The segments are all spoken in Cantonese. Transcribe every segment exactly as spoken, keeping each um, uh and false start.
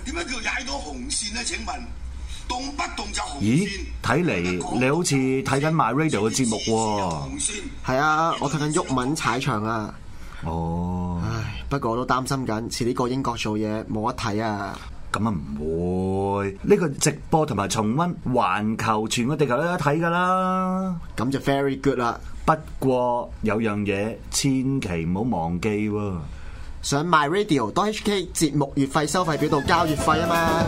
點解叫踩到紅線咧？請問動不動就紅線？ 咦，睇嚟你好似睇緊 My Radio 嘅節目喎。 係啊，我睇緊毓民踩場啊。 哦， 唉，不過我都擔心緊，遲啲過英國做嘢冇得睇啊。 咁啊唔會，呢個直播同埋重溫環球全個地球都有得睇㗎啦。 咁就 very good 啦。 不過有樣嘢千祈唔好忘記喎， 上 My Radio dot H K 節目月費收費表度交月費啊嘛。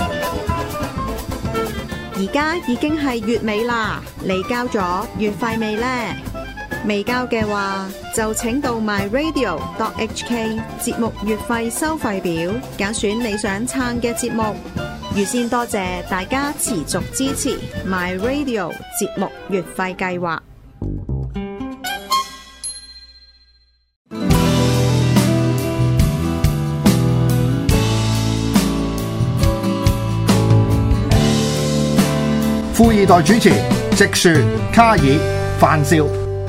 而家已經係月尾啦，你交咗月費未呢？未交嘅話，就請到 My Radio dot H K 節目月費收費表，揀選你想撐嘅節目。預先多謝大家持續支持 My Radio 節目月費計劃。 富二代主持直樹、卡爾、范少。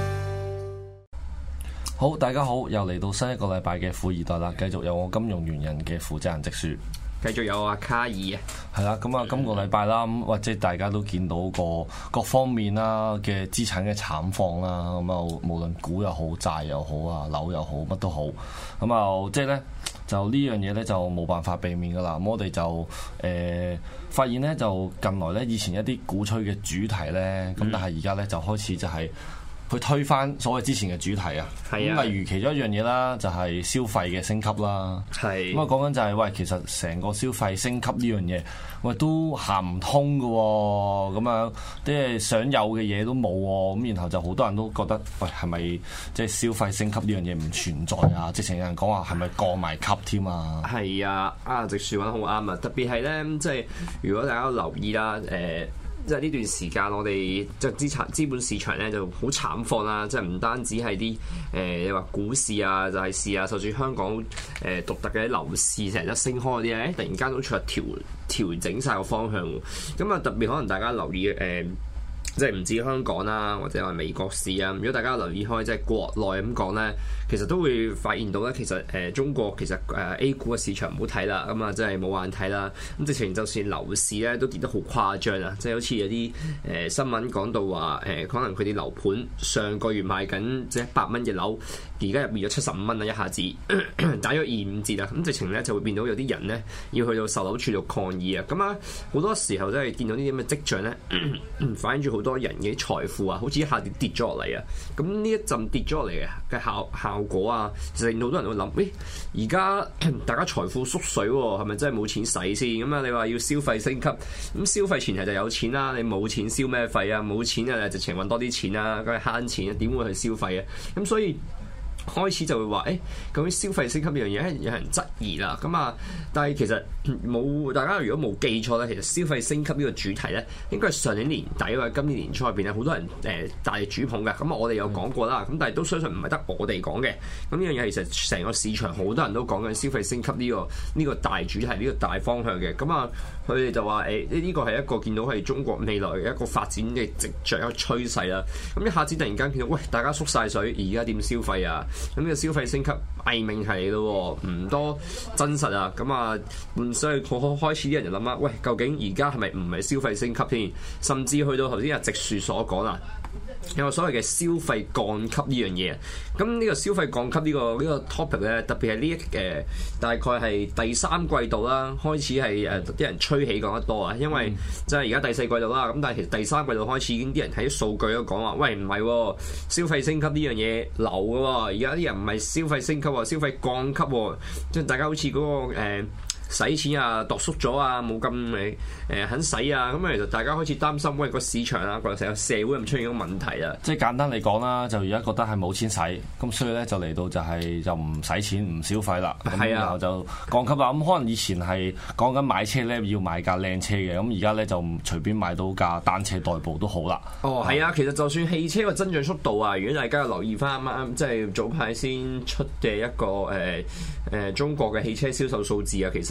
好，大家好，又嚟到新一個禮拜嘅富二代啦，繼續有我金融原人嘅負責人直樹， 繼續有阿卡爾啊， 係啦，咁啊，今個禮拜啦，咁或者大家都見到個各方面啦嘅資產嘅慘況啦，咁啊，無論股又好，債又好啊，樓又好，乜都好，咁啊，即係咧，就呢樣嘢咧就冇辦法避免噶啦，咁我哋就誒、呃、發現咧，就近來咧以前一啲鼓吹嘅主題咧，咁、嗯、但係而家咧就開始就係、是。去推翻所謂之前嘅主題啊，咁啊例如其中一樣嘢啦，就係消費嘅升級啦。係咁啊，講緊就係喂，其實成個消費升級呢樣嘢，喂都行唔通㗎喎，咁樣即係想有嘅嘢都冇喎，咁然後就好多人都覺得喂係咪即係消費升級呢樣嘢唔存在啊？直情有人講話係咪降埋級添啊？係啊，啊直樹講得好啱啊！特別係咧，即係如果大家留意啦，誒、呃。即係呢段時間，我哋即係資產資本市場咧就好慘況啦。即係唔單止係啲誒你話股市啊、債市啊，就算香港誒、呃、獨特嘅樓市成日升開嗰啲咧，突然間都出嚟調調整晒個方向。咁啊，特別可能大家留意誒。呃即係唔止香港啦，或者係美國市啊。如果大家留意開即係國內咁講咧，其實都會發現到咧，其實誒、呃、中國其實誒、呃、A 股嘅市場唔好睇啦，咁啊真係冇眼睇啦。咁直情就算樓市咧都跌得好誇張啊！即係好似有啲誒、呃、新聞講到話誒、呃，可能佢哋樓盤上個月賣緊即係一百蚊嘅樓，而家入變咗七十五蚊啦，一下子打咗二五折啊！咁直情咧就會變到有啲人咧要去到售樓處度抗議啊！咁啊好多時候真係見到呢啲咁嘅跡象咧，反映住好多人嘅財富啊，好似一下跌跌咗落嚟啊！咁呢一陣跌咗落嚟嘅效效果啊，其實令到好多人都會諗，誒而家大家財富縮水喎，係咪真係冇錢使先？咁啊，你話要消費升級，咁消費前提就有錢啦，你冇錢消咩費啊？冇錢啊，直情揾多啲錢啊，梗係慳錢啊，點會去消費啊？咁所以開始就會話，誒、欸，究竟消費升級呢樣嘢有人質疑啦。咁啊，但係其實冇大家如果冇記錯咧，其實消費升級呢個主題咧，應該係上年年底或者今年年初入邊咧，好多人誒、呃、大力主捧嘅。咁我哋有講過啦。咁但係都相信唔係得我哋講嘅。咁呢樣嘢其實成個市場好多人都講緊消費升級呢、這個呢、這個大主題，呢、這個大方向嘅。咁啊，佢哋就話誒呢個係一個見到係中國未來嘅一個發展嘅跡象，一個趨勢啦。咁一下子突然間見到，喂，大家縮晒水，而家點消費啊？咁呢個消費升級偽命題嚟咯，唔多真實啊！咁啊，所以開始啲人就諗啦，喂，究竟而家係咪唔係消費升級添？甚至去到頭先阿直樹所講啦，有個所謂嘅消費降級呢樣嘢。咁呢個消費降級呢、呢個呢、呢個 topic 咧，特別係呢一誒大概係第三季度啦，開始係誒啲人吹起講得多啊，因為即係而家第四季度啦，咁但係其實第三季度開始已經啲人喺數據都講話，喂，唔係、哦、消費升級呢樣嘢流嘅喎，而家啲人唔係消費升級喎，消費降級喎，即係大家好似嗰、嗰個、呃使錢啊，度縮咗啊，冇咁誒誒肯使啊，咁啊其實大家開始擔心，喂個市場啊，或者成個社會咁出現一個問題啊。即係簡單嚟講啦，就而家覺得係冇錢使，咁所以咧就嚟到就係就唔使錢唔消費啦。咁、啊、然後就降級啦。咁可能以前係講緊買車咧要買架靚車嘅，咁而家咧就唔隨便買到架單車代步都好啦。哦，係啊，其實就算汽車個增長速度啊，如果大家有留意翻啱啱即係早排先出嘅一個誒誒、呃呃、中國嘅汽車銷售數字啊，其實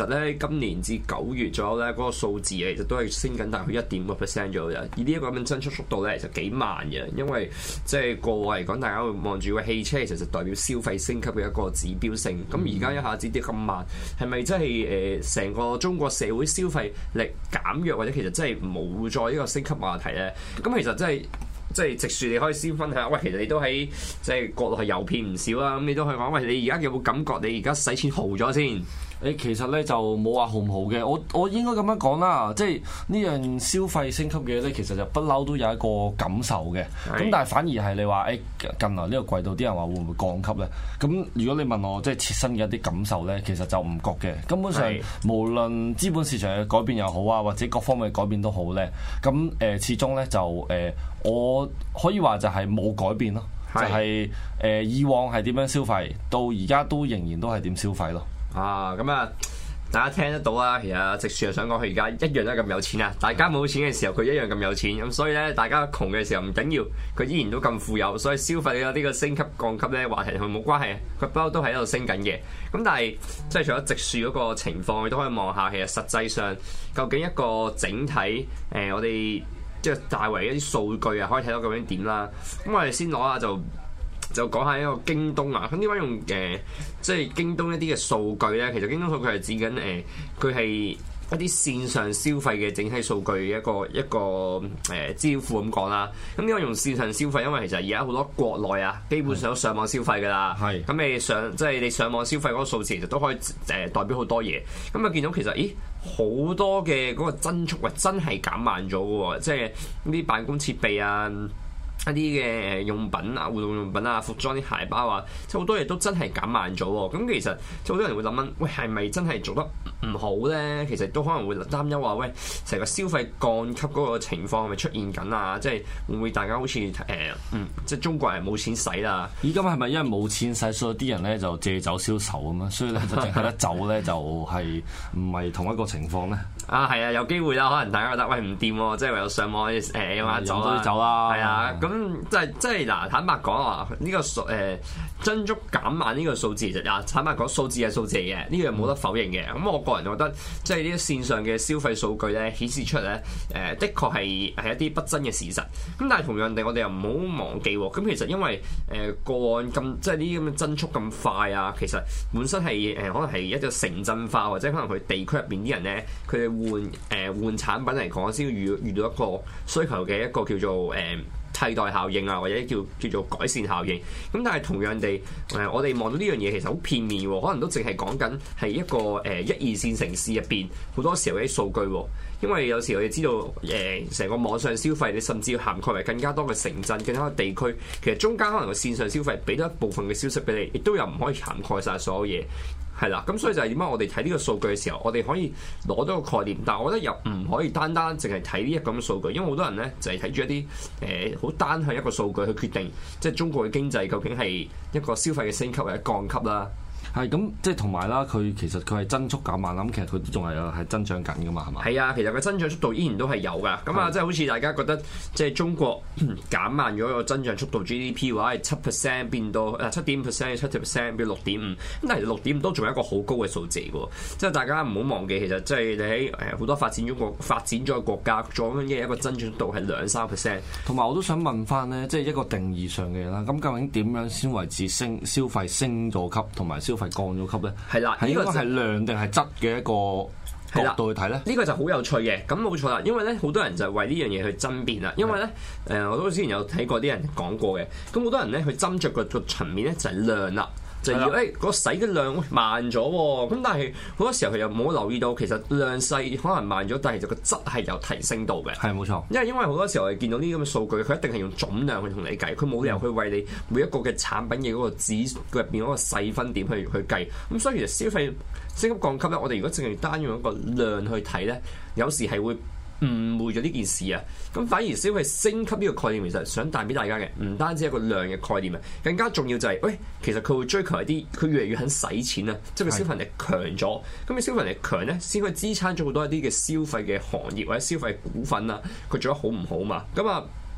實咧今年至九月左右咧嗰個數字其實都係升緊大概一點五個 percent 左右，而呢一個咁嘅增速速度咧就幾慢嘅，因為即係過往嚟講，大家會望住個汽車其實就代表消費升級嘅一個指標性。咁而家一下子跌咁慢，係咪真係誒成個中國社會消費力減弱，或者其實真係冇再呢個升級話題咧？咁其實真係。即係直樹，你可以先分享。喂，其實你都喺即係國內係遊遍唔少啦。咁你都可以講，喂，你而家有冇感覺？你而家使錢豪咗先？ 誒，其實咧就冇話豪唔豪嘅。我我應該咁樣講啦，即係呢樣消費升級嘅嘢咧，其實就不嬲都有一個感受嘅。咁是但係反而係你話誒近來呢個季度啲人話會唔會降級咧？咁如果你問我即係切身嘅一啲感受咧，其實就唔覺嘅。根本上是無論資本市場嘅改變又好啊，或者各方面嘅改變都好咧，咁誒、呃、始終咧就誒、呃、我可以話就係冇改變咯，是就係、是、誒、呃、以往係點樣消費，到而家都仍然都係點消費咯。 啊，咁啊，大家聽得到啊，其實直樹又想講佢而家一樣都係咁有錢啊！大家冇錢嘅時候，佢一樣咁有錢，咁所以咧，大家窮嘅時候唔緊要，佢依然都咁富有，所以消費呢個升級降級咧話題同佢冇關係，佢不嬲都喺度升緊嘅。咁但係即係除咗直樹嗰個情況，你都可以望下，其實實際上究竟一個整體誒、呃，我哋即係大圍一啲數據啊，可以睇到究竟點啦。咁我哋先攞下就。就講下一個京東啊，咁點解用誒、呃、即係京東一啲嘅數據咧？其實京東數據係指緊誒，佢、呃、係一啲線上消費嘅整體數據嘅一個一個誒資料庫咁講啦。咁點解用線上消費？因為其實而家好多國內啊，基本上都上網消費㗎啦。係咁是你上即係你上網消費嗰個數字，其實都可以誒、呃、代表好多嘢。咁啊見到其實咦好多嘅嗰個增速啊，真係減慢咗嘅喎，即係呢啲辦公設備啊。一啲嘅用品啊、活動用品啊、服裝啲鞋包啊，即係好多嘢都真係減慢咗喎。咁其實即係好多人會諗緊，喂係咪真係做得唔好咧？其實都可能會擔憂話，喂成個消費降級嗰個情況係咪出現緊啊？即係會唔會大家好似誒、呃、嗯，即係中國人冇錢使啦？而家係咪因為冇錢使，所以啲人咧就借酒消愁咁樣？所以咧就淨係得酒咧就係唔係同一個情況咧？啊係啊，有機會啦，可能大家覺得喂唔掂喎，即係唯有上網誒飲下酒啦，酒啦，係啊咁。咁即係即係嗱，坦白講啊，呢、這個數誒、呃、增速減慢呢個數字，其實啊，坦白講數字係數字嚟嘅，呢樣冇得否認嘅。咁我個人覺得，即係呢啲線上嘅消費數據咧，顯示出嚟咧，誒、呃、的確係係一啲不爭嘅事實。咁但係同樣地，我哋又唔好忘記喎。咁其實因為誒個案咁，即係呢啲咁嘅增速咁快啊，其實本身係誒、呃、可能係一個城鎮化，或者可能佢地區入邊啲人咧，佢哋換誒、呃、換產品嚟講，先要遇遇到一個需求嘅一個叫做誒。呃替代效應啊，或者叫叫做改善效應。咁但係同樣地，誒我哋望到呢樣嘢其實好片面喎，可能都淨係講緊係一個誒一二線城市入邊好多時候啲數據喎。因為有時我哋知道誒成個網上消費，你甚至要涵蓋為更加多嘅城鎮、更加多地區，其實中間可能個線上消費俾多一部分嘅消息俾你，亦都有唔可以涵蓋晒所有嘢。係啦，咁所以就係點解我哋睇呢個數據嘅時候，我哋可以攞到個概念，但係我覺得又唔可以單單淨係睇呢一咁嘅數據，因為好多人咧就係睇住一啲誒好單向一個數據去決定，即係中國嘅經濟究竟係一個消費嘅升級或者降級啦。係咁，即係同埋啦，佢其實佢係增速減慢，咁其實佢都仲係係增長緊噶嘛，係嘛？係啊，其實佢增長速度依然都係有噶。咁啊，即係好似大家覺得即係中國減慢咗個增長速度 G D P 嘅話，係七 percent 變到啊七點五 percent，七 percent 變六點五。咁但係六點五都仲係一個好高嘅數字嘅。即係大家唔好忘記，其實即係你喺誒好多發展中國發展咗嘅國家，做緊嘅一個增長速度係兩三 percent。同埋我都想問翻咧，即係一個定義上嘅嘢啦。咁究竟點樣先為之升消費升咗級，同埋消費降咗級咧？係啦，呢個係量定係質嘅一個角度去睇咧？呢、這個就好有趣嘅。咁冇錯啦，因為咧好多人就為呢樣嘢去爭辯啦。因為咧誒、呃，我都之前有睇過啲人講過嘅。咁好多人咧去斟酌個個層面咧就係量啦。就要誒個洗嘅量慢咗喎，咁但係好多時候佢又冇留意到，其實量細可能慢咗，但係就個質係有提升到嘅。係冇錯，因為因為好多時候我哋見到呢啲咁嘅數據，佢一定係用總量去同你計，佢冇理由去為你每一個嘅產品嘅嗰個指入邊嗰個細分點去去計。咁所以其實消費升級降級咧，我哋如果淨係單用一個量去睇咧，有時係會誤會咗呢件事啊！咁反而消費升級呢個概念，其實想帶俾大家嘅，唔單止係一個量嘅概念啊，更加重要就係、是，喂，其實佢會追求一啲，佢越嚟越肯使錢啊，即係佢消費力強咗，咁你消費力強咧，先可以支撐咗好多一啲嘅消費嘅行業或者消費股份啊，佢做得好唔好嘛？咁啊〜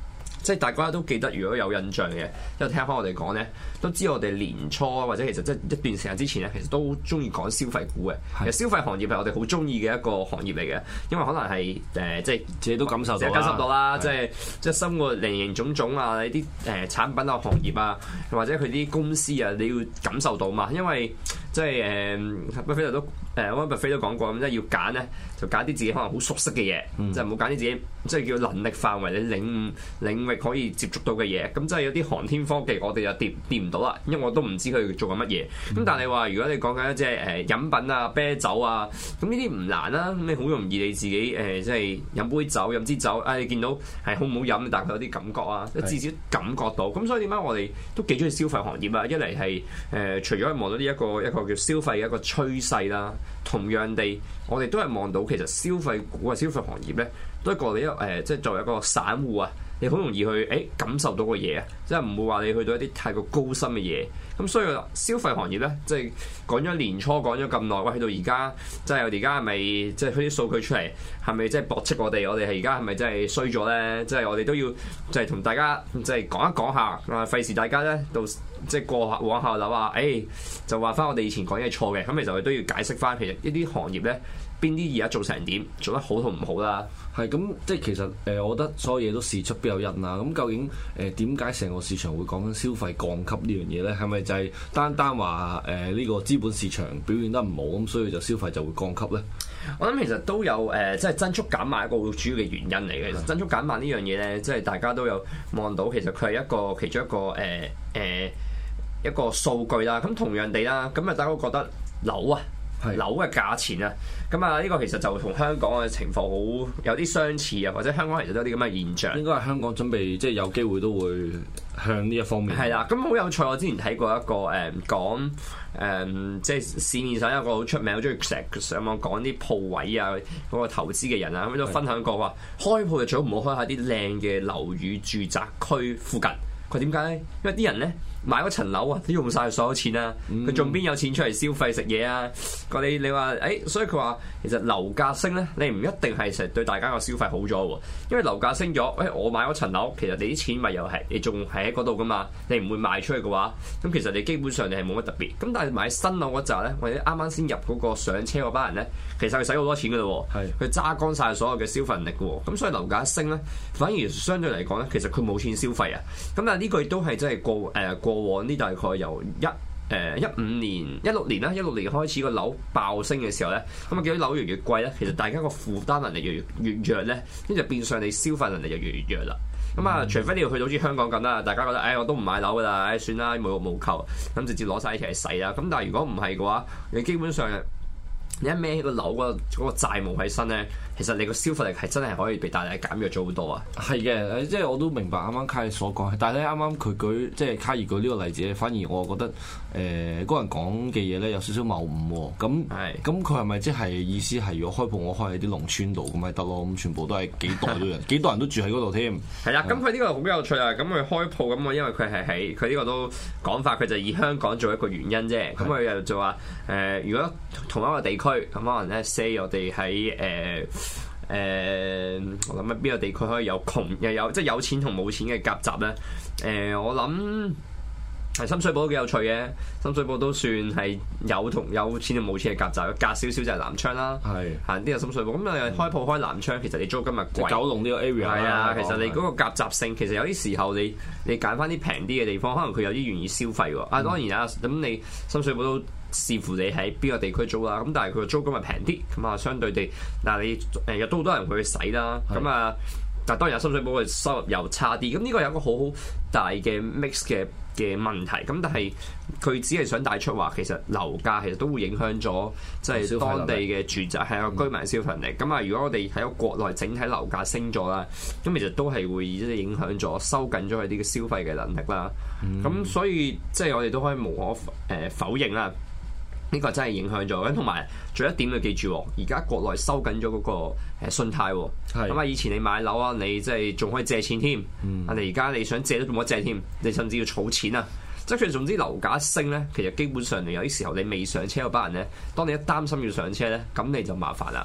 即係大家都記得，如果有印象嘅，因為聽翻我哋講咧，都知我哋年初或者其實即係一段時間之前咧，其實都中意講消費股嘅。其實消費行業係我哋好中意嘅一個行業嚟嘅，因為可能係誒、呃、即係自己都感受到啦， 感受到啦，即係即係生活零零總總啊，呢啲誒產品啊、行業啊，或者佢啲公司啊，你要感受到嘛，因為即係誒巴菲特都誒安巴菲都講過，咁即係要揀咧，就揀啲自己可能好熟悉嘅嘢，嗯、即係唔好揀啲自己即係叫能力範圍、你領悟領域可以接觸到嘅嘢。咁即係有啲航天科技，我哋就掂掂唔到啦，因為我都唔知佢做緊乜嘢。咁、嗯、但係話如果你講緊即係誒飲品啊、啤酒啊，咁呢啲唔難啦。咁你好容易你自己誒即係飲杯酒、飲支酒，啊你見到係好唔好飲，但係有啲感覺啊，是至少感覺到。咁所以點解我哋都幾中意消費行業啊？一嚟係誒除咗係望到呢一個一個叫消費嘅一個趨勢啦，同樣地，我哋都係望到其實消費股啊、消費行業咧，都係個你一誒即係作為一個散戶啊，你好容易去誒、欸、感受到個嘢啊，即係唔會話你去到一啲太過高深嘅嘢。咁所以消費行業咧，即係講咗年初講咗咁耐，喂，去到而家，即係我哋而家係咪即係佢啲數據出嚟，係咪即係駁斥我哋？我哋係而家係咪真係衰咗咧？即係我哋都要即係同大家即係講一講下，啊，費事大家咧到即係過往後諗話，誒、欸、就話翻我哋以前講嘢錯嘅。咁其實我哋都要解釋翻，其實呢啲行業咧，邊啲而家做成點，做得好同唔好啦。 係咁，即係其實誒、呃，我覺得所有嘢都事出必有因啦。咁究竟誒點解成個市場會講緊消費降級呢樣嘢咧？係咪就係單單話誒呢個資本市場表現得唔好，咁所以就消費就會降級咧？ 我諗其實都有誒、呃，即係增速減慢一個主要嘅原因嚟嘅。其實增速減慢呢樣嘢咧，即係大家都有望到，其實佢係一個其中一個誒誒、呃呃、一個數據啦。咁同樣地啦，咁啊大家都覺得樓啊。係樓嘅價錢啊，咁啊呢個其實就同香港嘅情況好有啲相似啊，或者香港其實都有啲咁嘅現象。應該係香港準備即係有機會都會向呢一方面。係啦，咁好有趣。我之前睇過一個誒、呃、講誒、呃，即係市面上一個好出名、好中意成日上網講啲鋪位啊，嗰、那個投資嘅人啊，咁都分享過話，開鋪就最好唔好開下啲靚嘅樓宇住宅區附近。佢點解咧？因為啲人咧買嗰層樓啊，都用晒所有錢啊，佢仲邊有錢出嚟消費食嘢啊？個你你話誒，所以佢話其實樓價升咧，你唔一定係成日對大家個消費好咗喎。因為樓價升咗，誒、哎、我買嗰層樓，其實你啲錢咪又係你仲係喺嗰度噶嘛，你唔會賣出去嘅話，咁其實你基本上你係冇乜特別。咁但係買新樓嗰陣咧，或者啱啱先入嗰個上車嗰班人咧，其實佢使好多錢噶咯喎，佢揸乾晒所有嘅消費能力嘅喎。咁所以樓價一升咧，反而相對嚟講咧，其實佢冇錢消費啊。咁但係呢個亦都係真係過誒、呃、過往呢大概由一誒一五年、一六年啦，一六年開始個樓爆升嘅時候咧，咁啊見到樓越嚟越貴咧，其實大家個負擔能力越越越弱咧，跟住變相你消費能力就越嚟越弱啦。咁啊，除非你要去到好似香港咁啦，大家覺得誒、哎、我都唔買樓噶啦，誒、哎、算啦，無欲無求，咁直接攞晒一齊使啦。咁但係如果唔係嘅話，你基本上你一孭起個樓嗰個嗰個債務喺身咧，其實你個消費力係真係可以被大大減弱咗好多啊！係嘅，即係我都明白啱啱卡爾所講，但係咧啱啱佢舉即係卡爾舉呢個例子咧，反而我覺得誒嗰、呃、個人講嘅嘢咧有少少謬誤喎。咁咁佢係咪即係意思係如果開鋪我開喺啲農村度咁咪得咯？咁全部都係幾代都人，幾代人都住喺嗰度添。係啦，咁佢呢個好有趣啊！咁佢開鋪咁我因為佢係喺佢呢個都講法，佢就以香港做一個原因啫。咁佢又就話誒、呃，如果同一個地區咁可能咧 say 我哋喺誒。誒、呃，我諗喺邊個地區可以有窮又有即係有錢同冇錢嘅夾雜咧？誒、呃，我諗係深水埗都幾有趣嘅。深水埗都算係有同有錢同冇錢嘅夾雜，隔少少就係南昌啦。係行啲就深水埗。咁你開鋪開南昌，其實你租金咪貴。九龍呢個 area 係啊，其實你嗰個夾雜性，其實有啲時候你你揀翻啲平啲嘅地方，可能佢有啲願意消費喎。啊，當然啊，咁你深水埗都。視乎你喺邊個地區租啦，咁但係佢個租金係平啲，咁啊相對地，嗱你誒有都好多人去使啦，咁啊，但係當然有深水埗嘅收入又差啲，咁呢個有一個好好大嘅 mix 嘅嘅問題，咁但係佢只係想帶出話，其實樓價其實都會影響咗即係當地嘅住宅係個居民消費能力，咁啊、嗯、如果我哋喺個國內整體樓價升咗啦，咁其實都係會即係影響咗收緊咗佢啲嘅消費嘅能力啦，咁、嗯、所以即係我哋都可以無可誒、呃、否認啦。呢個真係影響咗，咁同埋仲有一點要記住，而家國內收緊咗嗰個誒信貸，咁啊是以前你買樓啊，你即係仲可以借錢添，啊你而家你想借都冇得借添，你甚至要儲錢啊！即係總之樓價一升咧，其實基本上你有啲時候你未上車嗰班人咧，當你一擔心要上車咧，咁你就麻煩啦。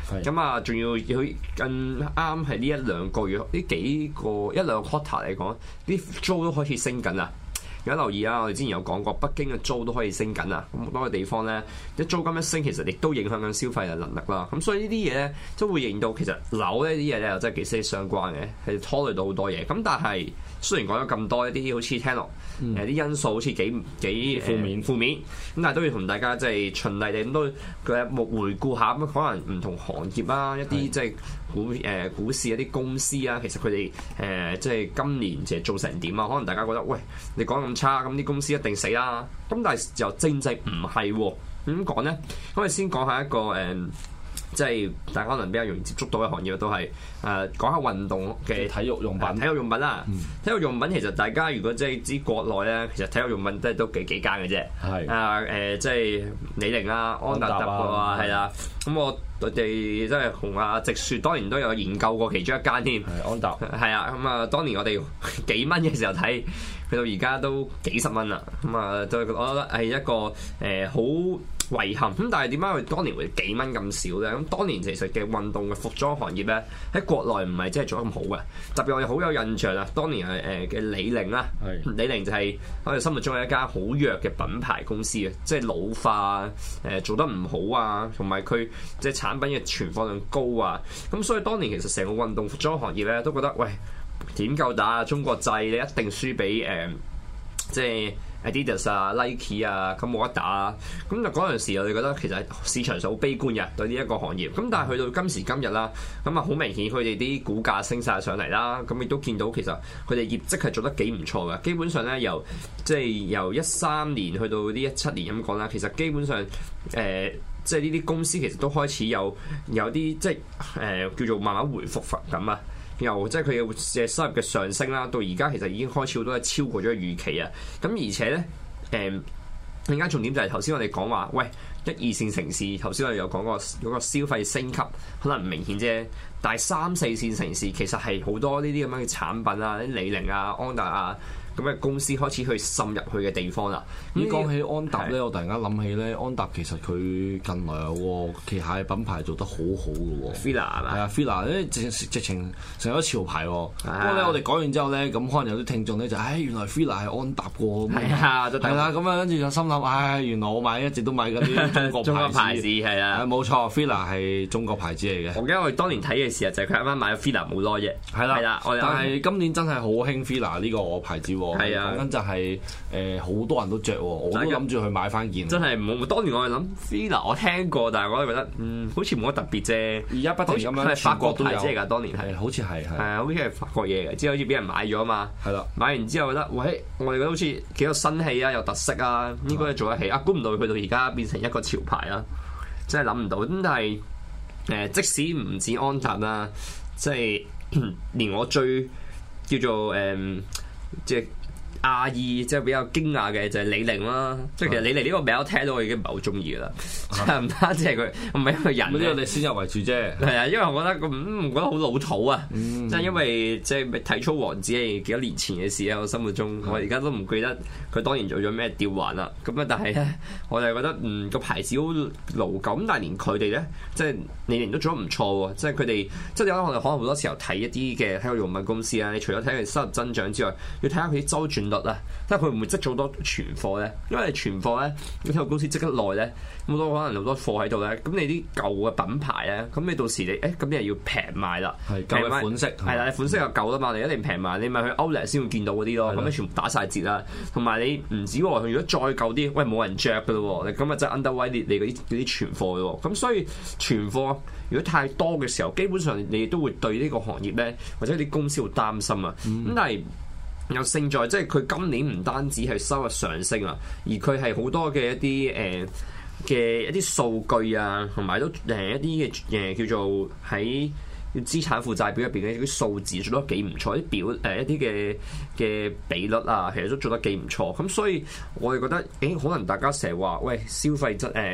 咁啊仲要佢更啱係呢一兩個月呢幾個一兩個 quarter 嚟講，啲租都開始升緊啦。有留意啊！我哋之前有講過，北京嘅租都可以升緊啊！咁好多個地方咧，啲租金一升，其實亦都影響緊消費嘅能力啦。咁所以呢啲嘢咧，都會認到其實樓呢啲嘢咧，又真係幾息息相關嘅，係拖累到好多嘢。咁但係雖然講咗咁多一啲好似聽落誒啲因素好似幾幾負面負面，咁但係都要同大家即係循例地咁都嘅回顧下咁，可能唔同行業啦，一啲即係股誒、呃、股市一啲公司啊，其實佢哋誒即係今年其實做成點啊？可能大家覺得喂，你講咁差，咁啲公司一定死啦。咁但係又正正唔係喎。點講咧？咁我哋先講下一個誒。呃即係大家可能比較容易接觸到嘅行業都係誒、呃、講下運動嘅體育用品、呃、體育用品啦。嗯、體育用品其實大家如果即係知國內咧，其實體育用品都係都幾幾間嘅啫。係啊誒，即係李寧啊、安踏啊，係啦。咁我我哋真係同阿直樹當年都有研究過其中一間添。係安踏。係啊，咁啊，當年我哋幾蚊嘅時候睇，去到而家都幾十蚊啦。咁啊，都我覺得係一個誒好。呃遺憾咁，但係點解佢當年會幾蚊咁少咧？咁當年其實嘅運動嘅服裝行業咧，喺國內唔係真係做得咁好嘅。特別我哋好有印象啊，當年係誒嘅李寧啦，是李寧就係我哋心目中係一間好弱嘅品牌公司嘅，即係老化誒做得唔好啊，同埋佢即係產品嘅存貨量高啊。咁所以當年其實成個運動服裝行業咧都覺得喂，點夠打啊？中國製你一定輸俾誒、呃、即係。Adidas 啊、Nike 啊，咁冇得打啊！咁就嗰陣時我哋覺得其實市場上好悲觀嘅對呢一個行業。咁但係去到今時今日啦，咁啊好明顯佢哋啲股價升晒上嚟啦。咁亦都見到其實佢哋業績係做得幾唔錯嘅。基本上咧由即係由一三年去到呢一七年咁講啦，其實基本上誒、呃、即係呢啲公司其實都開始有有啲即係誒、呃、叫做慢慢回復翻咁啊。由即係佢嘅收入嘅上升啦，到而家其實已經開始好多係超過咗預期啊！咁而且咧，誒更加重點就係頭先我哋講話，喂一二線城市，頭先我哋有講過嗰個消費升級可能唔明顯啫，但係三四線城市其實係好多呢啲咁樣嘅產品啊，啲李寧啊、安踏啊。咁嘅公司開始去滲入去嘅地方啦。 咁講起安踏咧，我突然間諗起咧，安踏其實佢近來有個旗下嘅品牌做得好好嘅喎。 Fila 係嘛？ 係啊 Fila 咧直直情成咗潮牌喎。不過咧，我哋講完之後咧，咁可能有啲聽眾咧就，唉，原來 Fila 係安踏嘅。係啊，係啦，咁啊跟住就心諗，唉，原來我買一直都買緊啲中國牌子係啊。冇錯 Fila 係中國牌子嚟嘅。 我記得我哋當年睇嘅時候就係佢啱啱買咗 Fila 冇耐啫。係啦，係啦， 但係今年真係好興 Fila 呢個牌子。係啊，講緊就係誒好多人都着喎，我都諗住去買翻件。真係冇，當年我係諗 Fila 我聽過，但係我都覺得嗯好似冇乜特別啫。而家不停咁樣，係法國牌子嚟㗎，當年係好似係係啊，好似係法國嘢嘅，之後好似俾人買咗啊嘛。係啦，買完之後覺得喂，我哋覺得好似幾有新氣啊，有特色啊，應該做得起啊，估唔到去到而家變成一個潮牌啦，真係諗唔到。咁但係誒，即使唔止安踏啦，即係連我最叫做誒即係。亞裔即係比較驚訝嘅就係李寧啦，即係其實李寧呢個名我聽到我已經唔係好中意噶啦，即係唔單止係佢唔係一個人，呢個你先入為主啫。係啊，因為我覺得咁唔覺得好老土啊，即係、嗯、因為即係體操王子係幾多年前嘅事喺我心目中，嗯、我而家都唔記得佢當年做咗咩吊環啦。咁啊，但係咧，我就覺得嗯個牌子好老舊，咁但係連佢哋咧，即係李寧都做得唔錯喎。即係佢哋即係有我哋可能好多時候睇一啲嘅體育用品公司啊，你除咗睇佢收入增長之外，要睇下佢啲周轉率啊，即係佢會唔會積咗好多存貨咧？因為你存貨咧，你體育公司積得耐咧，咁多可能好多貨喺度咧，咁你啲舊嘅品牌咧，咁你到時你誒咁你又要平賣啦，係舊嘅款式係啦，你款式又舊啦嘛，你一定平賣，你咪去 Outlet 先會見到嗰啲咯，咁你全部打晒折啦，同埋你唔止喎，如果再舊啲，喂冇人着噶咯喎，你咁啊真係 underweight 你你嗰啲嗰啲存貨咯，咁所以存貨如果太多嘅時候，基本上你都會對呢個行業咧，或者啲公司會擔心啊，咁、嗯、但係。又勝在即係佢今年唔單止係收入上升啊，而佢係好多嘅一啲誒嘅一啲數據啊，同埋都誒一啲嘅誒叫做喺資產負債表入邊嘅啲數字做得幾唔錯，啲表誒、呃、一啲嘅嘅比率啊，其實都做得幾唔錯。咁所以我哋覺得誒、欸，可能大家成日話喂消費質誒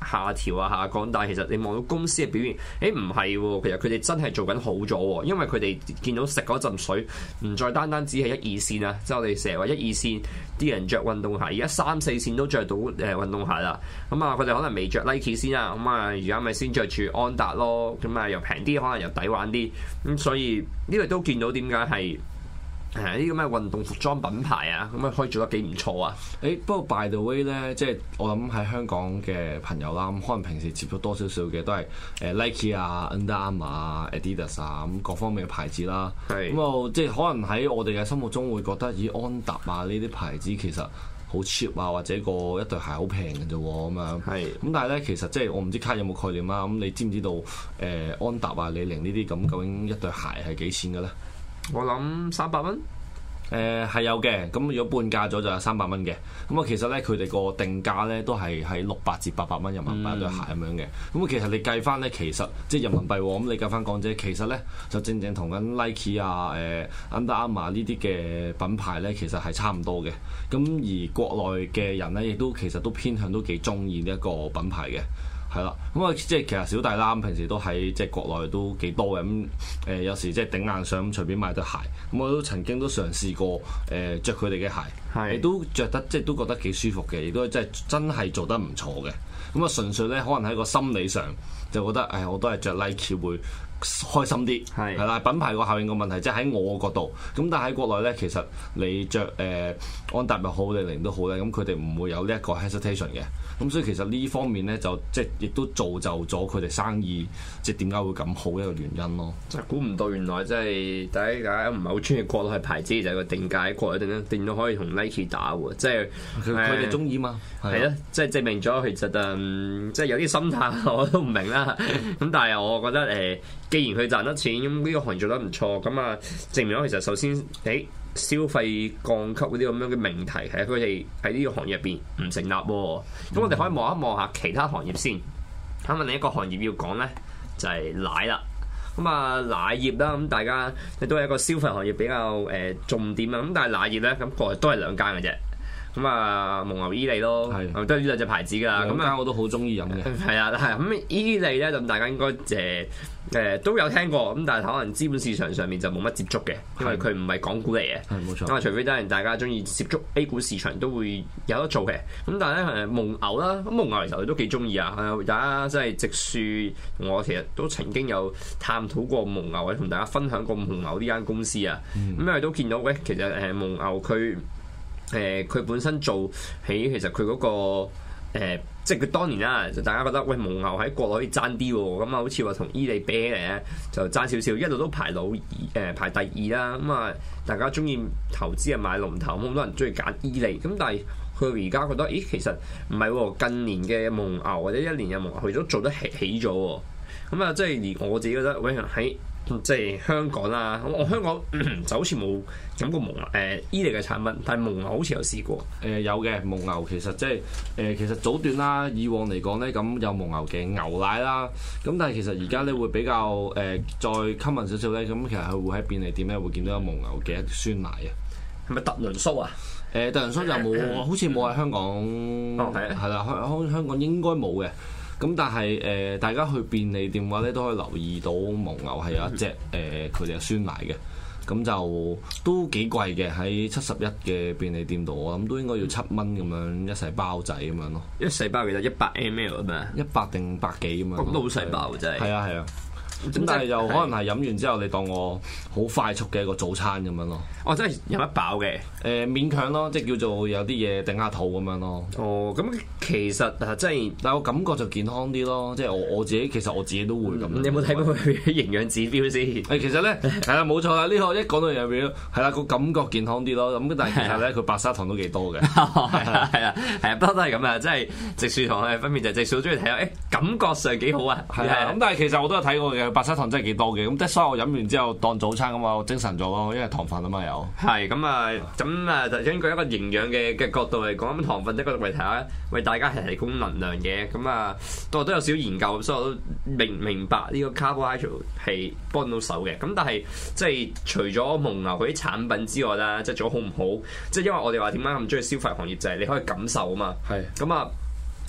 下調啊下降，但係其實你望到公司嘅表現，誒唔係喎，其實佢哋真係做緊好咗喎，因為佢哋見到食嗰陣水唔再單單只係一二線啊，即係我哋成日話一二線啲人着運動鞋，而家三四線都着到誒運動鞋啦。咁啊，佢哋可能未着 Nike 先啊，咁啊而家咪先着住安踏咯，咁啊又平啲，可能又抵玩啲，咁所以呢個都見到點解係。係呢啲咁嘅運動服裝品牌啊，咁啊可以做得幾唔錯啊！ 誒、欸，不過 by the way 咧，即係我諗喺香港嘅朋友啦，咁可能平時接觸多少少嘅都係誒 Nike 啊、Under Armour 啊、Adidas 啊咁各方面嘅牌子啦。係咁啊，即係可能喺我哋嘅心目中會覺得，咦安踏啊呢啲牌子其實好 cheap 啊，或者個一對鞋好平嘅啫喎咁樣。係咁，但係咧其實即係我唔知卡有冇概念啦。咁你知唔知道誒、呃、安踏啊、李寧呢啲咁究竟一對鞋係幾錢嘅咧？ 我諗三百蚊。 誒係有嘅，咁如果半價咗就有三百蚊嘅。咁啊其實咧佢哋個定價咧都係喺六百至八百蚊人民幣對鞋咁樣嘅。咁啊其實你計翻咧，其實即係人民幣喎，咁你計翻港紙，其實咧就正正同緊 Nike 啊、誒 Under Armour 呢啲嘅品牌咧，其實係差唔多嘅。咁而國內嘅人咧，亦都其實都偏向都幾中意呢一個品牌嘅。係啦，咁啊即係其實小弟啦，平時都喺即係國內都幾多嘅，咁誒有時即係頂硬上咁隨便買對鞋，咁我都曾經都嘗試過誒著佢哋嘅鞋，亦都着得即係都覺得幾舒服嘅，亦都即係真係做得唔錯嘅。咁啊純粹咧可能喺個心理上就覺得誒我都係着 Nike 會開心啲，係係啦，品牌個效應個問題，即係喺我個角度。咁但係喺國內咧，其實你着誒、呃、安踏又好，李寧都好咧，咁佢哋唔會有呢一個 hesitation 嘅。咁所以其實呢方面咧，就即係亦都造就咗佢哋生意，即係點解會咁好一個原因咯。 真係估唔到，原來即係大家大家唔係好中意國內係牌子，就係個定價喺國內定定到可以同 Nike 打喎，即係佢哋中意嘛。 係咯，即係證明咗其實誒，即係有啲心態我都唔明啦。咁但係我覺得誒，既然佢賺得錢，咁呢個行業做得唔錯，咁啊證明咗其實首先誒。消費降級嗰啲咁樣嘅命題，係佢哋喺呢個行業入邊唔成立喎。咁、嗯、我哋可以望一望下其他行業先。咁啊，另一個行業要講咧就係、是、奶啦。咁啊，奶業啦，咁大家都係一個消費行業比較誒、呃、重點啊。咁但係奶業咧，咁過嚟都係兩間嘅啫。咁啊，蒙牛、伊利咯，係都係呢兩隻牌子㗎。咁啊， 我都好中意飲嘅。 係啊，係咁伊利咧，咁大家應該誒。呃誒、呃、都有聽過，咁但係可能資本市場上面就冇乜接觸嘅，因為佢唔係港股嚟嘅。係冇錯。咁啊，除非真係大家中意接觸 A 股市場，都會有得做嘅。咁但係咧誒蒙牛啦，咁蒙牛其實我都幾中意啊。大家真係直樹，我其實都曾經有探討過蒙牛，或者同大家分享過蒙牛呢間公司啊。咁因為都見到咧，其實誒蒙牛佢誒佢本身做起，其實佢嗰、嗰個、呃即係佢當年啦，就大家覺得喂蒙牛喺國內可以爭啲喎，咁啊好似話同伊利比起嚟咧就爭少少，一路都排老二誒、呃、排第二啦。咁啊大家中意投資啊買龍頭，好多人中意揀伊利。咁但係佢而家覺得，咦其實唔係喎，近年嘅蒙牛或者一年嘅蒙牛佢都做得起起咗喎。咁啊即係連我自己覺得，喂喺即係香港啦，我香港就好似冇飲過蒙牛誒伊利嘅產品，但係蒙牛好似有試過。誒、 呃、有嘅蒙牛其實即係誒其實早段啦，以往嚟講咧咁有蒙牛嘅牛奶啦，咁但係其實而家咧會比較誒、呃、再 common 少少咧，咁其實佢會喺便利店咧會見到有蒙牛嘅一酸奶啊， 係咪特崙蘇啊？ 誒、呃、特崙蘇就冇，好似冇喺香港，係啦、哦，香香港應該冇嘅。咁但係誒、呃，大家去便利店嘅話咧，都可以留意到蒙牛係有一隻誒佢哋嘅酸奶嘅，咁就都幾貴嘅，喺七十一嘅便利店度，我諗都應該要七蚊咁樣一細包仔咁樣咯。 一細包其實一百 ml 啊嘛， 一百定百幾咁樣。咁都好細包真係。係啊係啊。咁但係又可能係飲完之後，你當我好快速嘅一個早餐咁樣咯。 哦，真係飲得飽嘅。誒、 呃，勉強咯，即係叫做有啲嘢頂下肚咁樣咯。 哦，咁其實啊，即係， 但係我感覺就健康啲咯。即係我我自己，其實我自己都會咁、嗯。 你有冇睇過佢營養指標先？ 誒，其實咧係啦，冇錯啦。呢、這個一講到營養表，係啦，個感覺健康啲咯。咁但係其實咧，佢白砂糖都幾多嘅。 係啊係啊係啊，不嬲都係咁啊！即係直樹同佢分別就係直樹中意睇下，誒感覺上幾好啊。 係啊，咁但係其實我都有睇過嘅，白砂糖真係幾多嘅。咁即係所以我飲完之後當早餐咁啊，我精神咗咯，因為糖分啊嘛有。 係咁啊，咁啊，就根據一個營養嘅嘅角度嚟講，咁糖分即係嗰度為睇下，為大家係提供能量嘅。咁啊，我都有少少研究，所以我都明明白呢個 carbohydrate 係幫到手嘅。咁但係即係除咗蒙牛嗰啲產品之外啦，即係做好唔好？即係因為我哋話點解咁中意消費行業，就係、是、你可以感受啊嘛。係咁啊。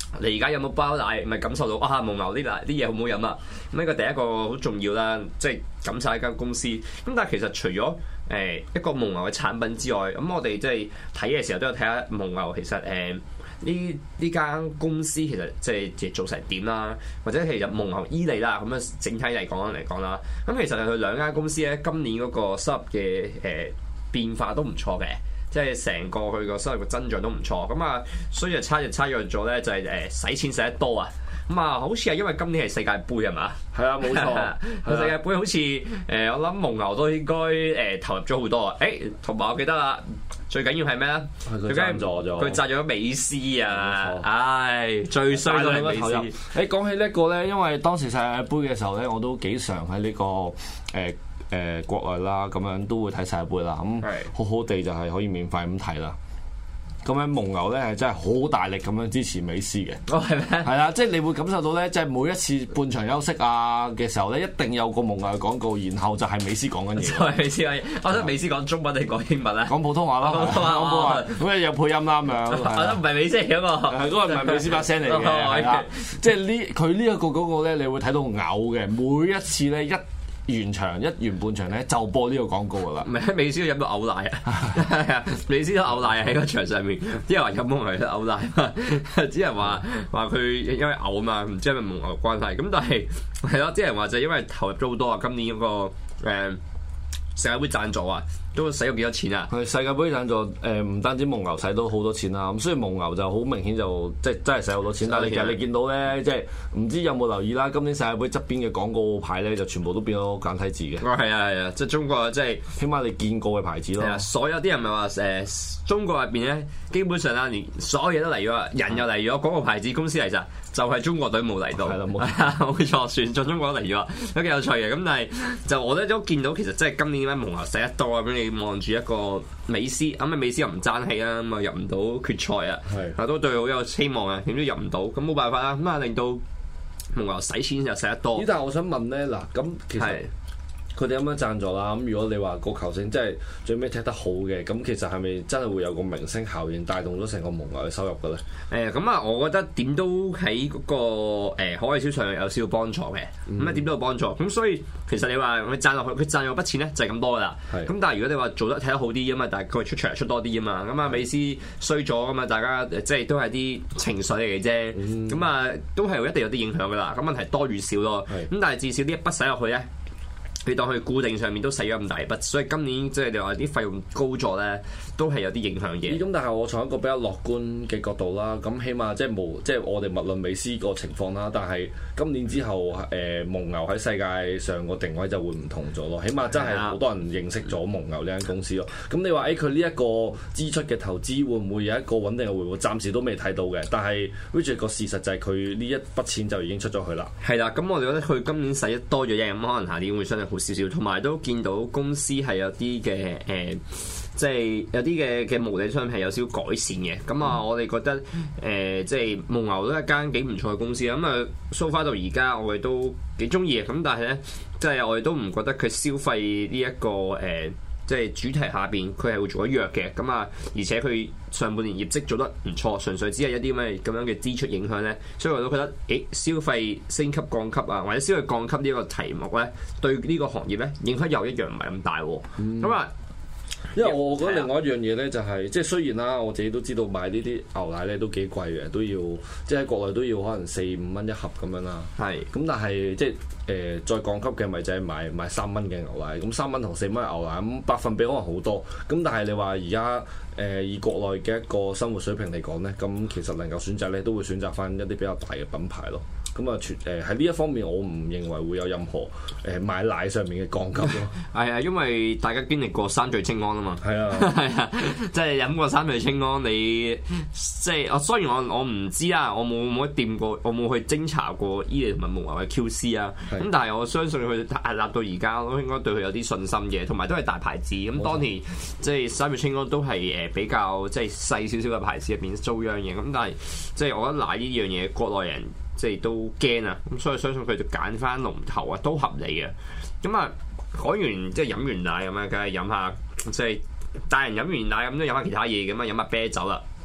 你而家有冇包奶，咪感受到啊蒙牛啲奶啲嘢好唔好飲啊？咁呢個第一個好重要啦，即係感受一間公司。咁但係其實除咗誒一個蒙牛嘅產品之外，咁我哋即係睇嘅時候都有睇下蒙牛其實誒呢呢間公司其實即係做成點啦，或者其實蒙牛伊利啦咁樣整體嚟講嚟講啦，咁其實佢兩間公司咧今年嗰個收入嘅誒、呃、變化都唔錯嘅。即係成個佢個收入嘅增長都唔錯，咁啊，所以就差就差咗咗咧，就係誒使錢使得多啊，咁啊，好似係因為今年係世界盃係嘛？ 係啊，冇錯，世界盃好似誒、呃，我諗蒙牛都應該誒、呃、投入咗好多啊！誒，同埋我記得啦，最緊要係咩咧？ 佢贊助咗，佢贊助咗美斯啊！唉、哎，最衰都係美斯。誒、 欸，講起呢一個咧，因為當時世界盃嘅時候咧，我都幾常喺呢、這個誒。呃誒、呃、國內啦，咁樣都會睇世界盃啦，咁好好地就係可以免費咁睇啦。咁樣蒙牛咧係真係好大力咁樣支持美斯嘅。 哦，係咩？ 係啦，即係你會感受到咧，即係每一次半場休息啊嘅時候咧，一定有個蒙牛嘅廣告，然後就係美斯講緊嘢。 就係美斯講嘢，我覺得美斯講中文定講英文咧？ 講普通話啦，講普通話，講普通話。咁誒有配音啦咁樣。 我覺得唔係美斯嗰個， 嗰個唔係美斯把聲嚟嘅。係啦，即係呢佢呢一個廣告咧，你會睇到嘔嘅，每一次咧一。完場一完半場咧就播呢個廣告噶啦， 唔係美斯都飲到嘔奶啊！美斯都嘔奶啊！喺個場上面，啲人話飲蒙牛都嘔奶，啲人話話佢因為嘔嘛，唔知係咪蒙牛關係。咁但係係咯，啲人話就因為投入咗好多啊，今年嗰、那個誒、呃、世界盃贊助啊，都使咗幾多錢啊？ 係世界盃贊助誒，唔、呃、單止蒙牛使到好多錢啦，咁所以蒙牛就好明顯就即係真係使好多錢。但係其實你見到咧，即係唔知有冇留意啦？今年世界盃側邊嘅廣告牌咧，就全部都變咗簡體字嘅。 哦，係啊係啊，即係中國即係起碼你見過嘅牌子咯。係啊， 所有啲人咪話誒中國入邊咧，基本上啦，連所有嘢都嚟咗，人又嚟咗，廣告牌子公司嚟咋，就係、是、中國隊冇嚟到。係啦，冇冇錯，全進中國都嚟咗，都幾有趣嘅。咁但係就我咧都見到，其實即係今年點解蒙牛使得多啊？咁你望住一個美斯，咁啊美斯又唔爭氣啦，咁啊入唔到決賽啊，係都對佢好有希望啊，點都入唔到，咁冇辦法啦，咁啊令到蒙牛使錢又使得多。 咦？但係我想問咧，嗱咁其實佢哋咁樣贊助啦，咁如果你話個球星真係最尾踢得好嘅，咁其實係咪真係會有個明星效應帶動咗成個蒙牛嘅收入嘅咧？ 誒咁啊，我覺得點都喺嗰、那個誒、呃、海外銷售有少少幫助嘅，咁啊點都有幫助。咁所以其實你話佢賺落去，佢賺咗筆錢咧就係咁多噶啦。咁是但係如果你話做得睇得好啲啊嘛，但係佢出場出多啲啊嘛，咁啊美斯衰咗啊嘛，大家即係都係啲情緒嚟嘅啫。咁啊、嗯、都係一定有啲影響噶啦。咁問題多與少咯。咁是但係至少呢一筆使落去咧。你當佢固定上面都使咗咁大筆，所以今年即係你話啲費用高咗咧，都係有啲影響嘅。咁但係我從一個比較樂觀嘅角度啦，咁起碼即係無即係我哋勿論美斯個情況啦，但係今年之後誒、呃、蒙牛喺世界上個定位就會唔同咗咯。起碼真係好多人認識咗蒙牛呢間公司咯。咁你話誒佢呢一個支出嘅投資會唔會有一個穩定嘅回報？暫時都未睇到嘅。但係 which 個事實就係佢呢一筆錢就已經出咗去啦。 係啦，咁我哋覺得佢今年使得多咗嘢，咁可能下年會相對好少少，同埋都見到公司係有啲嘅誒，即係有啲嘅嘅毛利商品係有少少改善嘅。咁啊，我哋覺得誒、呃，即係蒙牛都係一間幾唔錯嘅公司。咁啊，so far到而家我哋都幾中意嘅。咁但係咧，即係我哋都唔覺得佢消費呢、這、一個誒。呃即係主題下邊，佢係會做得弱嘅，咁啊，而且佢上半年業績做得唔錯，純粹只係一啲咩咁樣嘅支出影響咧，所以我都覺得，誒消費升級降級啊，或者消費降級呢個題目咧，對呢個行業咧影響又一樣唔係咁大喎，咁啊、嗯， 因為我覺得另外一樣嘢咧就係、是，即係雖然啦，我自己都知道買呢啲牛奶咧都幾貴嘅，都要即係喺國內都要可能四五蚊一盒咁樣啦，係是，咁但係即係。誒、呃、再降級嘅咪就係買買三蚊嘅牛奶，咁三蚊同四蚊牛奶咁百分比可能好多，咁但係你話而家誒以國內嘅一個生活水平嚟講咧，咁其實能夠選擇咧都會選擇翻一啲比較大嘅品牌咯。咁啊，全誒喺呢一方面，我唔認為會有任何誒、呃、買奶上面嘅降級咯。 係啊，因為大家經歷過三聚氰胺啊嘛。係啊，係啊，即係飲過三聚氰胺，你即係我雖然我我唔知啊，我冇冇掂過，我冇去偵查過伊利同埋蒙牛嘅 Q C 啊。咁是但係我相信佢屹立到而家，都應該對佢有啲信心嘅，同埋都係大牌子。咁當年即係三聚氰胺都係誒比較即係細少少嘅牌子入邊遭殃嘅。咁但係即係我覺得奶呢樣嘢，國內人。即係都驚啊！咁所以相信佢就揀翻龍頭啊，都合理嘅。咁啊，講完即係飲完奶咁啊，梗係飲下即係大人飲完奶咁都飲下其他嘢咁啊，飲下啤酒啦。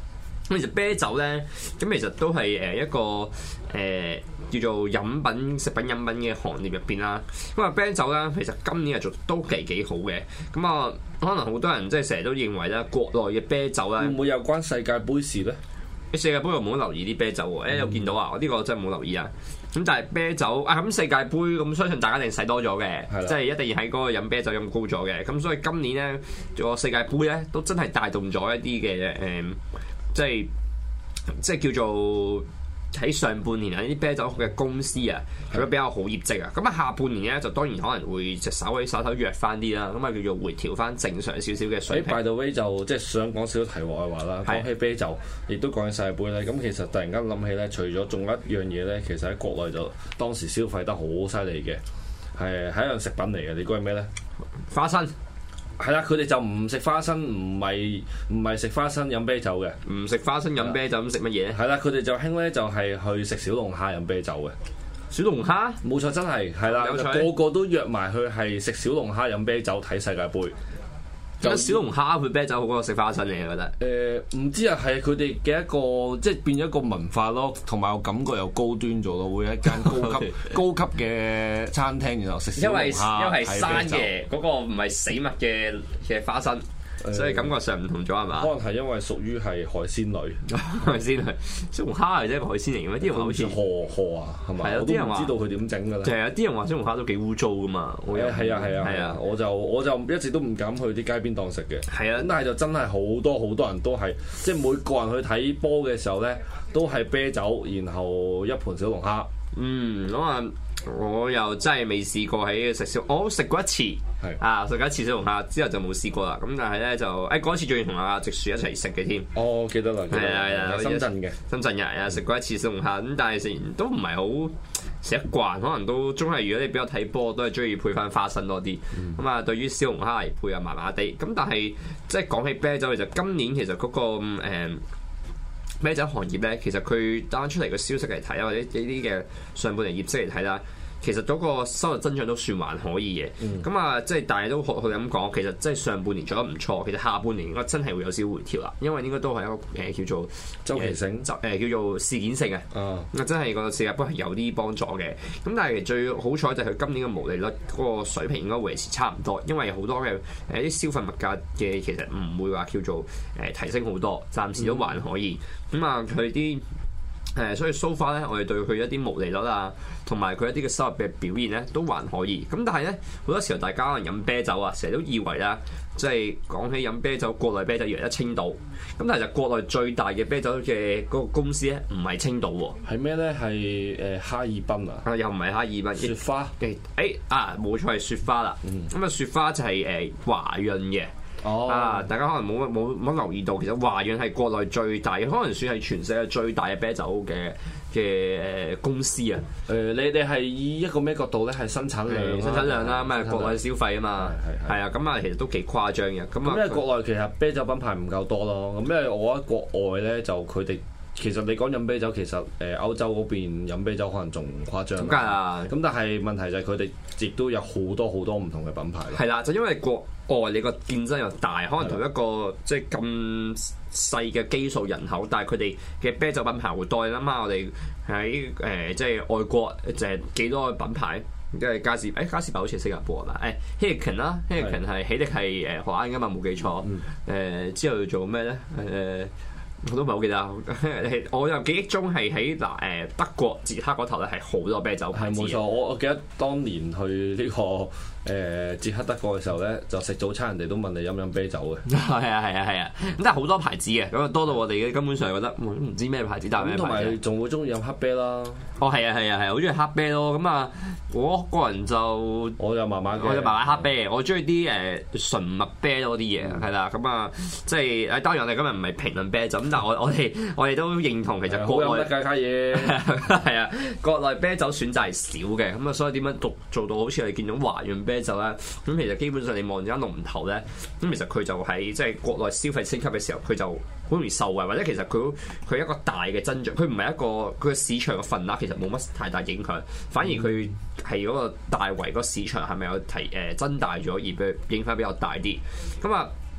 咁其實啤酒咧，咁其實都係誒一個誒、呃、叫做飲品、食品飲品嘅行業入邊啦。咁啊啤酒咧，其實今年係做都幾幾好嘅。咁啊，可能好多人即係成日都認為咧，國內嘅啤酒咧， 會唔會有關世界盃事咧？ 世界盃我冇留意啲啤酒喎，誒有見到啊！我呢個真係冇留意啊。咁但係啤酒啊，咁世界盃咁，相信大家一定使多咗嘅，即係一定要喺嗰個飲啤酒飲高咗嘅。咁所以今年咧個世界盃咧都真係帶動咗一啲嘅誒，即係即係叫做喺上半年啊，呢啲啤酒嘅公司啊，係都比較好業績啊。咁啊下半年咧就當然可能會就稍微稍稍弱翻啲啦。咁啊叫做回調翻正常少少嘅水平。 by the way 就即係想講少少題外話啦。講起啤酒，亦都講起世界盃咧。咁其實突然間諗起咧，除咗仲有一樣嘢咧，其實喺國內就當時消費得好犀利嘅，係係一樣食品嚟嘅。你估係咩咧？ 花生。 係啦，佢哋就唔食花生，唔係唔係食花生飲啤酒嘅， 唔食花生飲啤酒咁食乜嘢？ 係啦，佢哋就興咧就係去食小龍蝦飲啤酒嘅。 小龍蝦？冇錯，真係係啦，個個都約埋去係食小龍蝦飲啤酒睇世界盃。 有小龍蝦配啤酒好過食花生嘅，我覺得。 誒唔、呃、知啊，係佢哋嘅一個即係變咗一個文化咯，同埋我感覺又高端咗咯，會一間高級高級嘅餐廳，然後食小龍蝦。因為因為係生嘅，嗰個唔係死物嘅嘅花生。所以感覺上唔同咗係嘛？ 可能係因為屬於係海鮮類， 海鮮類小龍蝦係一個海鮮嚟嘅咩？啲人話好似河河啊，係咪？係啊，啲人話知道佢點整㗎啦。 係啊，啲人話小龍蝦都幾污糟㗎嘛。 係啊係啊係啊！我就我就一直都唔敢去啲街邊檔食嘅。係啊，咁但係就真係好多好多人都係，即係每個人去睇波嘅時候咧，都係啤酒，然後一盤小龍蝦。 嗯，咁啊。我又真係未試過喺食小，我食過一次，係啊食過一次小龍蝦之後就冇試過啦。咁但係咧就誒嗰次仲要同阿直樹一齊食嘅添。 哦，記得啦， 係啊係啊， 深圳嘅深圳人啊食過一次小龍蝦，咁但係食完都唔係好食得慣，可能都總係如果你比較睇波，都係中意配翻花生多啲。咁啊、嗯，對於小龍蝦嚟配啊麻麻地。咁但係即係講起啤酒，其實今年其實嗰、嗰個誒。嗯啤酒行業咧，其實佢單出嚟嘅消息嚟睇啦，或者呢啲嘅上半年業績嚟睇啦，其實嗰個收入增長都算還可以嘅。咁啊、嗯，即係大家都學佢咁講，其實即係上半年做得唔錯，其實下半年應該真係會有少少回調啦，因為應該都係一個誒、呃、叫做周期性， 誒、呃、叫做事件性嘅。啊，真係個世界盃係有啲幫助嘅。咁但係最好彩就係佢今年嘅毛利率嗰個水平應該維持差唔多，因為好多嘅誒啲消費物價嘅其實唔會話叫做誒、呃、提升好多，暫時都還可以。咁啊、嗯，佢啲誒，所以 so far 咧，我哋對佢一啲毛利率啊，同埋佢一啲嘅收入嘅表現咧，都還可以。咁但係咧，好多時候大家可能飲啤酒啊，成日都以為啦，即係講起飲啤酒，國內啤酒以為得青島。咁但係就國內最大嘅啤酒嘅嗰個公司咧，唔係青島喎。 係咩咧？係誒哈爾濱啊？ 啊，又唔係哈爾濱。 雪花。 誒、欸、啊，冇錯係雪花啦。咁啊、嗯，雪花就係誒華潤嘅。哦、啊！大家可能冇乜冇冇留意到，其實華潤係國內最大嘅，可能算係全世界最大嘅啤酒嘅嘅誒公司啊。 誒、呃，你哋係以一個咩角度咧？係生產量、 生產量啦，咁啊國內消費啊嘛，係係啊，咁啊其實都幾誇張嘅。咁啊， 因為國內其實啤酒品牌唔夠多咯。咁因為我覺得國外咧就佢哋。其實你講飲啤酒，其實誒歐洲嗰邊飲啤酒可能仲誇張。咁梗係啦。咁但係問題就係佢哋亦都有好多好多唔同嘅品牌。 係啦，就因為國外你個競爭又大，可能同一個的即係咁細嘅基數人口，但係佢哋嘅啤酒品牌會多。你諗下，我哋喺誒即係外國就係幾多個品牌？即係嘉士，誒嘉士伯好似係新加坡啦。誒 Heineken 啦 Heineken 係喜力係誒荷蘭㗎嘛，冇記錯。誒、嗯呃、之後要做咩咧？誒、呃。我都唔係好記得，我有記憶中係喺嗱誒德國捷克嗰頭咧係好多啤酒牌子。係冇錯，我我記得當年去呢、這個誒、呃、捷克德國嘅時候咧，就食早餐人哋都問你飲唔飲啤酒嘅。係啊係啊係啊，咁但係好多牌子嘅，咁啊多到我哋根本上覺得唔、嗯、知咩牌子，但係咩牌子。同埋仲會中意飲黑啤啦。哦係啊係啊係，好中意黑啤咯。咁啊，我個人就我就麻麻嘅，我就麻麻黑啤，我中意啲誒純麥啤多啲嘢，係啦。咁啊，即係誒當然我哋今日唔係評論啤酒。但我我哋我哋都認同其實國內家家嘢係啊，國內啤酒選擇係少嘅，咁啊所以點樣做做到好似我哋見到華潤啤酒咧？咁其實基本上你望住間龍頭咧，咁其實佢就喺即係國內消費升級嘅時候，佢就好容易受惠，或者其實佢佢一個大嘅增長，佢唔係一個佢嘅市場嘅份額其實冇乜太大影響，反而佢係嗰個大圍嗰個市場係咪有提誒、呃、增大咗而影響比較大啲？咁啊。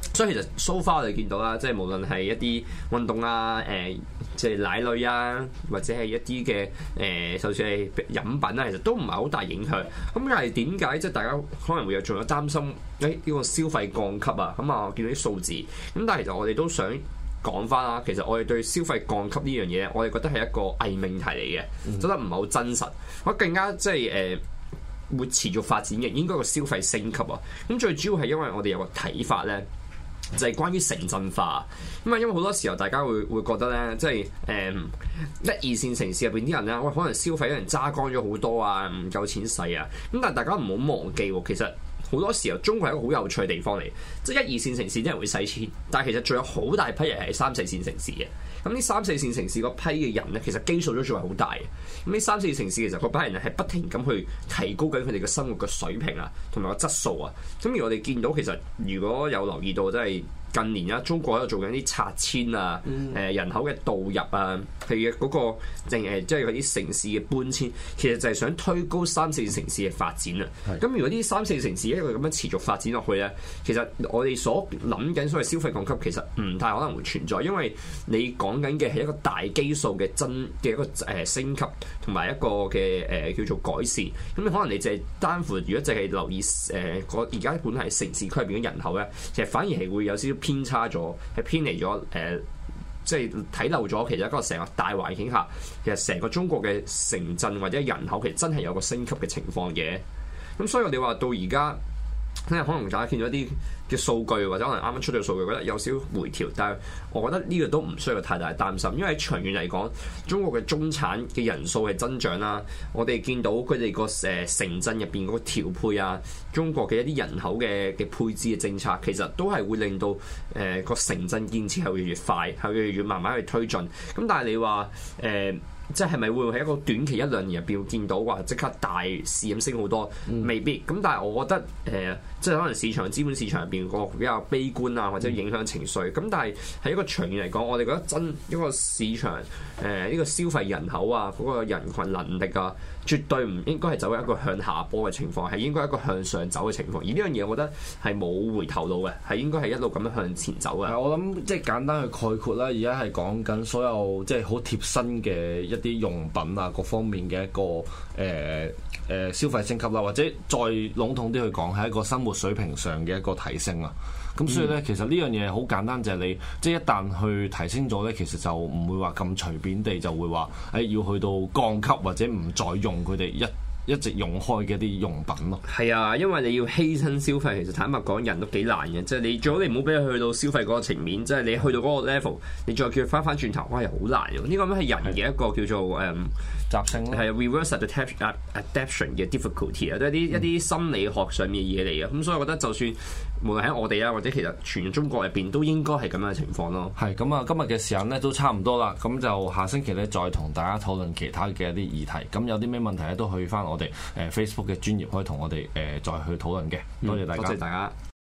所以其實 so far 我哋見到啦，即係無論係一啲運動啊，誒即係奶類啊，或者係一啲嘅誒，就算係飲品啊，其實都唔係好大影響。咁但係點解即係大家可能會有仲有擔心誒呢個消費降級啊？咁啊，我見到啲數字，咁但係其實我哋都想講翻啦。其實我哋對消費降級呢樣嘢，我哋覺得係一個偽命題嚟嘅，覺得唔係好真實。我更加即係誒。呃會持續發展嘅，應該個消費升級啊！咁最主要係因為我哋有個睇法咧，就係、是、關於城鎮化。咁啊，因為好多時候大家會會覺得咧，即係誒一二線城市入邊啲人咧，喂，可能消費啲人揸乾咗好多啊，唔夠錢使啊。咁但係大家唔好忘記喎，其實好多時候中國係一個好有趣嘅地方嚟，即係一二線城市啲人會使錢，但係其實仲有好大批人係三四線城市嘅。咁呢三四線城市嗰批嘅人咧，其實基數都仲係好大嘅。咁呢三四線城市其實嗰班人係不停咁去提高緊佢哋嘅生活嘅水平啊，同埋個質素啊。咁而我哋見到其實如果有留意到，即係近年啦，中國喺度做緊啲拆遷啊，誒、嗯、人口嘅導入啊，佢嘅嗰個淨係即係嗰啲城市嘅搬遷，其實就係想推高三四線城市嘅發展啊。咁是如果啲三四線城市一個咁樣持續發展落去咧，其實我哋所諗緊所謂消費降級，其實唔太可能會存在，因為你講緊嘅係一個大基數嘅增嘅一個誒升級，同埋一個嘅誒、呃、叫做改善。咁可能你淨係單乎如果淨係留意誒個而家本嚟城市區入邊嘅人口咧，其實反而係會有少少偏差咗，係偏離咗誒、呃，即係睇漏咗。其實一個成個大環境下，其實成個中國嘅城鎮或者人口其實真係有個升級嘅情況嘅。咁所以我哋話到而家，可能大家見到一啲嘅數據，或者可能啱啱出咗數據，覺得有少少回調，但係我覺得呢個都唔需要太大擔心，因為長遠嚟講，中國嘅中產嘅人數係增長啦。我哋見到佢哋個誒城鎮入邊嗰個調配啊，中國嘅一啲人口嘅嘅配置嘅政策，其實都係會令到誒個、呃、城鎮建設係越嚟越快，係越嚟越慢慢去推進。咁但係你話誒？呃即係咪會喺一個短期一兩年入邊見到話即刻大市咁升好多？未必。咁但係我覺得誒、呃，即係可能市場資本市場入邊個比較悲觀啊，或者影響情緒。咁但係喺一個長遠嚟講，我哋覺得真一個市場誒呢、呃這個消費人口啊，嗰、那個人群能力啊，絕對唔應該係走一個向下坡嘅情況，係應該一個向上走嘅情況。而呢樣嘢，我覺得係冇回頭路嘅，係應該係一路咁樣向前走嘅。 我諗即係簡單去概括啦，而家係講緊所有即係好貼身嘅一啲用品啊，各方面嘅一個誒誒、呃呃、消費升級啦，或者再籠統啲去講，係一個生活水平上嘅一個提升啊。咁所以咧，其實呢樣嘢好簡單，就係、是、你即係一旦去提升咗咧，其實就唔會話咁隨便地就會話誒、哎、要去到降級或者唔再用佢哋一一直用開嘅一啲用品咯。 係啊，因為你要犧牲消費，其實坦白講，人都幾難嘅。即係你最好你唔好俾佢去到消費嗰個層面，即係你去到嗰個 level，你再叫佢翻翻轉頭，哇，又好難嘅。呢個咁係人嘅一個叫做誒習性咯， 係 reverse adaptation 嘅 difficulty 啊，都係啲一啲心理學上面嘅嘢嚟嘅。咁所以我覺得就算無論喺我哋啊，或者其實全中國入邊都應該係咁樣嘅情況咯。 係咁啊，今日嘅時間咧都差唔多啦，咁就下星期咧再同大家討論其他嘅一啲議題。咁有啲咩問題咧都去翻我哋誒 Facebook 嘅專頁，可以同我哋誒再去討論嘅。多謝大家。 多謝大家。